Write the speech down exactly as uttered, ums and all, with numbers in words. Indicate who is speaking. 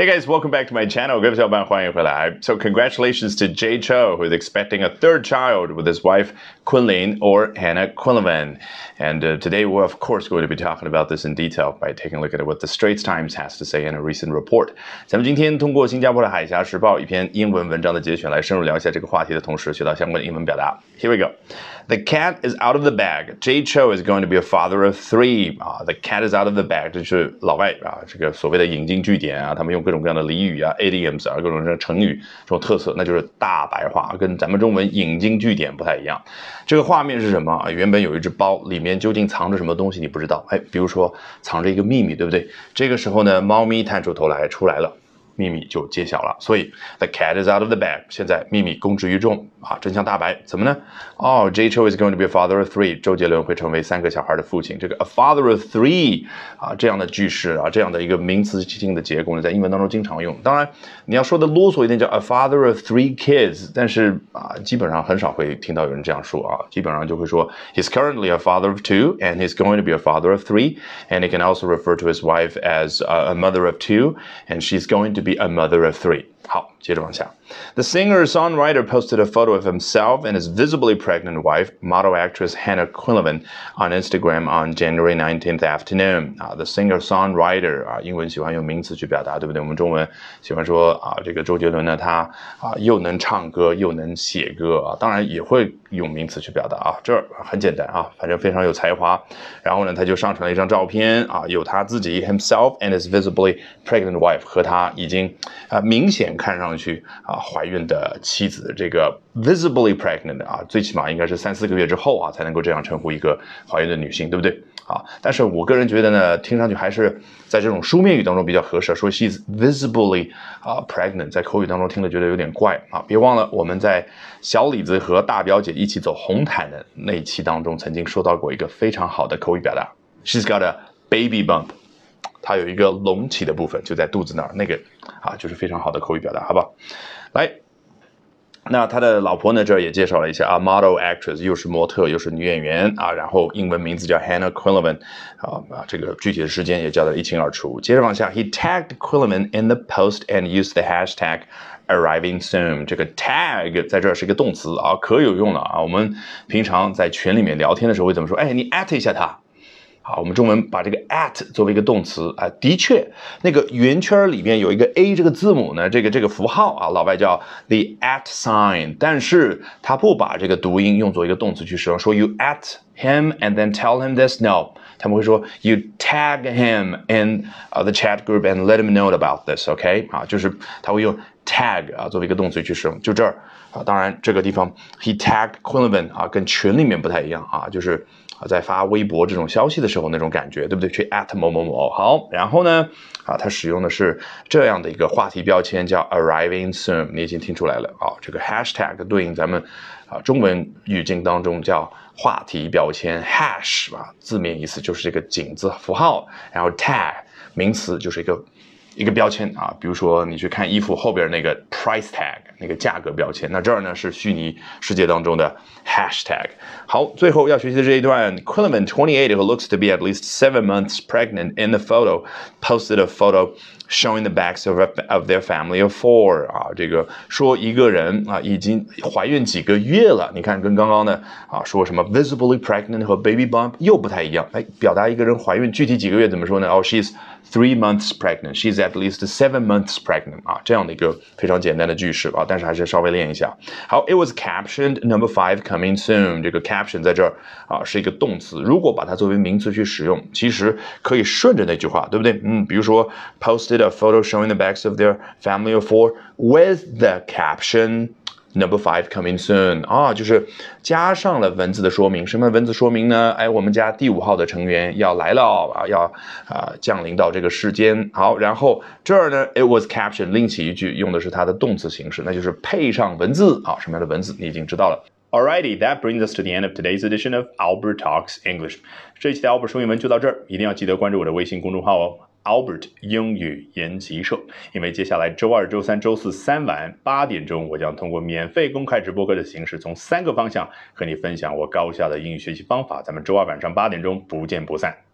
Speaker 1: Hey guys, welcome back to my channel. 各位小伙伴，欢迎回来。So congratulations to Jay Chou, who is expecting a third child with his wife Quinlin or Hannah Quinlivan. And uh, today we're of course going to be talking about this in detail by taking a look at what the Straits Times has to say in a recent report. 咱们今天通过新加坡的海峡时报一篇英文文章的节选来深入聊一下这个话题的同时，学到相关的英文表达。Here we go. The cat is out of the bag. Jay Chou is going to be a father of three. 啊 ，The cat is out of the bag， 这是老外啊，这个所谓的引经据典啊，他们用各种各样的俚语啊 ，idioms 啊，各种这成语这种特色，那就是大白话，跟咱们中文引经据典不太一样。这个画面是什么啊？原本有一只包，里面究竟藏着什么东西你不知道，哎，比如说藏着一个秘密，对不对？这个时候呢，猫咪探出头来出来了。秘密就揭晓了，所以 the cat is out of the bag。现在秘密公之于众啊，真相大白，怎么呢？哦、oh, ，Jay Chou is going to be a father of three。周杰伦会成为三个小孩的父亲。这个 a father of three 啊，这样的句式啊，这样的一个名词性的结构呢，在英文当中经常用。当然，你要说的啰嗦一点叫 a father of three kids， 但是啊，基本上很少会听到有人这样说啊，基本上就会说 he's currently a father of two and he's going to be a father of three and he can also refer to his wife as a mother of two and she's going to be a mother of three. 好，接着往下。The singer-songwriter posted a photo of himself and his visibly pregnant wife, model actress Hannah Quinlivan, on Instagram on January nineteenth afternoon. 啊 ，The singer-songwriter 啊，英文喜欢用名词去表达，对不对？我们中文喜欢说啊，这个周杰伦呢，他啊又能唱歌又能写歌啊，当然也会用名词去表达啊。这儿很简单啊，反正非常有才华。然后呢，他就上传了一张照片啊，有他自己 himself and his visibly pregnant wife 和他已经啊明显看上去啊怀孕的妻子，这个 visibly pregnant 啊，最起码应该是三四个月之后啊才能够这样称呼一个怀孕的女性，对不对？啊，但是我个人觉得呢，听上去还是在这种书面语当中比较合适，说 she's visibly 啊 pregnant， 在口语当中听了觉得有点怪啊。别忘了我们在小李子和大表姐一起走红毯的那一期当中，曾经说到过一个非常好的口语表达 ，she's got a baby bump。它有一个隆起的部分，就在肚子那儿，那个啊，就是非常好的口语表达，好不好？来，那他的老婆呢，这儿也介绍了一下啊 ，model actress 又是模特又是女演员啊，然后英文名字叫 Hannah Quinlivan 啊啊，这个具体的时间也叫得一清二楚。接着往下 ，He tagged Quinlivan in the post and used the hashtag arriving soon。这个 tag 在这儿是一个动词啊，可有用了啊。我们平常在群里面聊天的时候会怎么说？哎，你 at 一下他。好，我们中文把这个 at 作为一个动词啊，的确，那个圆圈里面有一个 a 这个字母呢，这个这个符号啊，老外叫 the at sign， 但是他不把这个读音用作一个动词去使用，说 you at him and then tell him this no， 他们会说 you tag him in、uh, the chat group and let him know about this，OK、okay? 啊，就是他会用 tag 啊作为一个动词去使用，就这儿啊，当然这个地方 he tagged Quinlivan 啊，跟群里面不太一样啊，就是。在发微博这种消息的时候那种感觉，对不对？去 at 某某某。好，然后呢，啊，它使用的是这样的一个话题标签，叫 arriving soon。你已经听出来了啊，这个 hashtag 对应咱们啊中文语境当中叫话题标签 hash 啊，字面意思就是这个井字符号，然后 tag 名词就是一个。一个标签啊，比如说你去看衣服后边那个 price tag 那个价格标签，那这儿呢是虚拟世界当中的 hashtag。好，最后要学习的这一段 Quinlivan twenty-eight who looks to be at least seven months pregnant in the photo posted a photo showing the backs of, of their family of four 啊，这个说一个人啊已经怀孕几个月了，你看跟刚刚的啊说什么 visibly pregnant 和 baby bump 又不太一样，哎，表达一个人怀孕具体几个月怎么说呢？哦 ，she's three months pregnant. She's at least seven months pregnant. 啊，这样的一个非常简单的句式啊，但是还是稍微练一下。好 ，It was captioned number five coming soon. 这个 caption 在这儿啊是一个动词，如果把它作为名词去使用，其实可以顺着那句话，对不对？嗯，比如说 posted a photo showing the backs of their family of four with the caption.Number five coming soon 啊，就是加上了文字的说明。什么文字说明呢？哎，我们家第五号的成员要来了啊，要啊降临到这个世间。好，然后这儿呢 ，it was captioned 另起一句，用的是它的动词形式，那就是配上文字啊。什么样的文字你已经知道了。Alrighty, that brings us to the end of today's edition of Albert Talks English. 这一期的 Albert 说英文就到这儿，一定要记得关注我的微信公众号哦。Albert 英语研习社，因为接下来周二、周三、周四三晚八点钟，我将通过免费公开直播课的形式，从三个方向和你分享我高效的英语学习方法。咱们周二晚上八点钟不见不散。